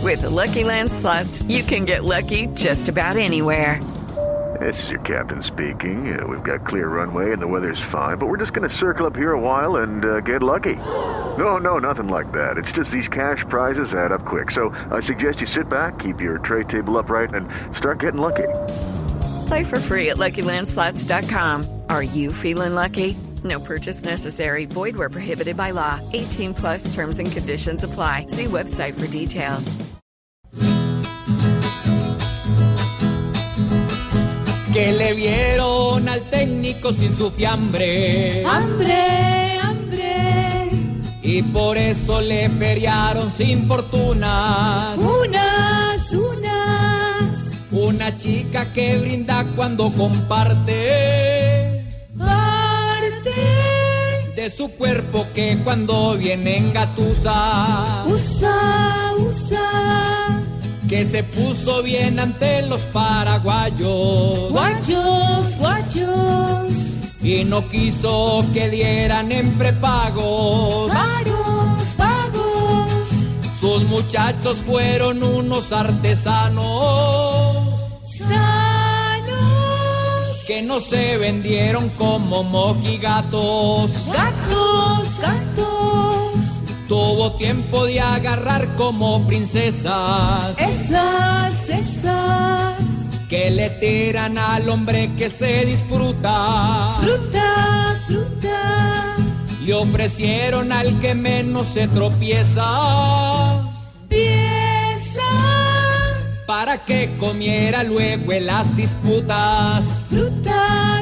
With the Lucky Land Slots, you can get lucky just about anywhere. This is your captain speaking. We've got clear runway and the weather's fine, but we're just going to circle up here a while and get lucky. No, nothing like that. It's just these cash prizes add up quick. So I suggest you sit back, keep your tray table upright, and start getting lucky. Play for free at LuckyLandSlots.com. Are you feeling lucky? No purchase necessary. Void where prohibited by law. 18 plus terms and conditions apply. See website for details. Que le vieron al técnico sin su fiambre. ¡Hambre! Y por eso le feriaron sin fortunas. Una chica que brinda cuando comparte. Parte de su cuerpo que cuando viene engatusa. Usa Que se puso bien ante los paraguayos. Guachos Y no quiso que dieran en prepagos. Pagos Sus muchachos fueron unos artesanos Sanos que no se vendieron como mojigatos. Gatos Tuvo tiempo de agarrar como princesas. Esas Que le tiran al hombre que se disfruta. Fruta Le ofrecieron al que menos se tropieza. Pieza Para que comiera luego en las disputas. Fruta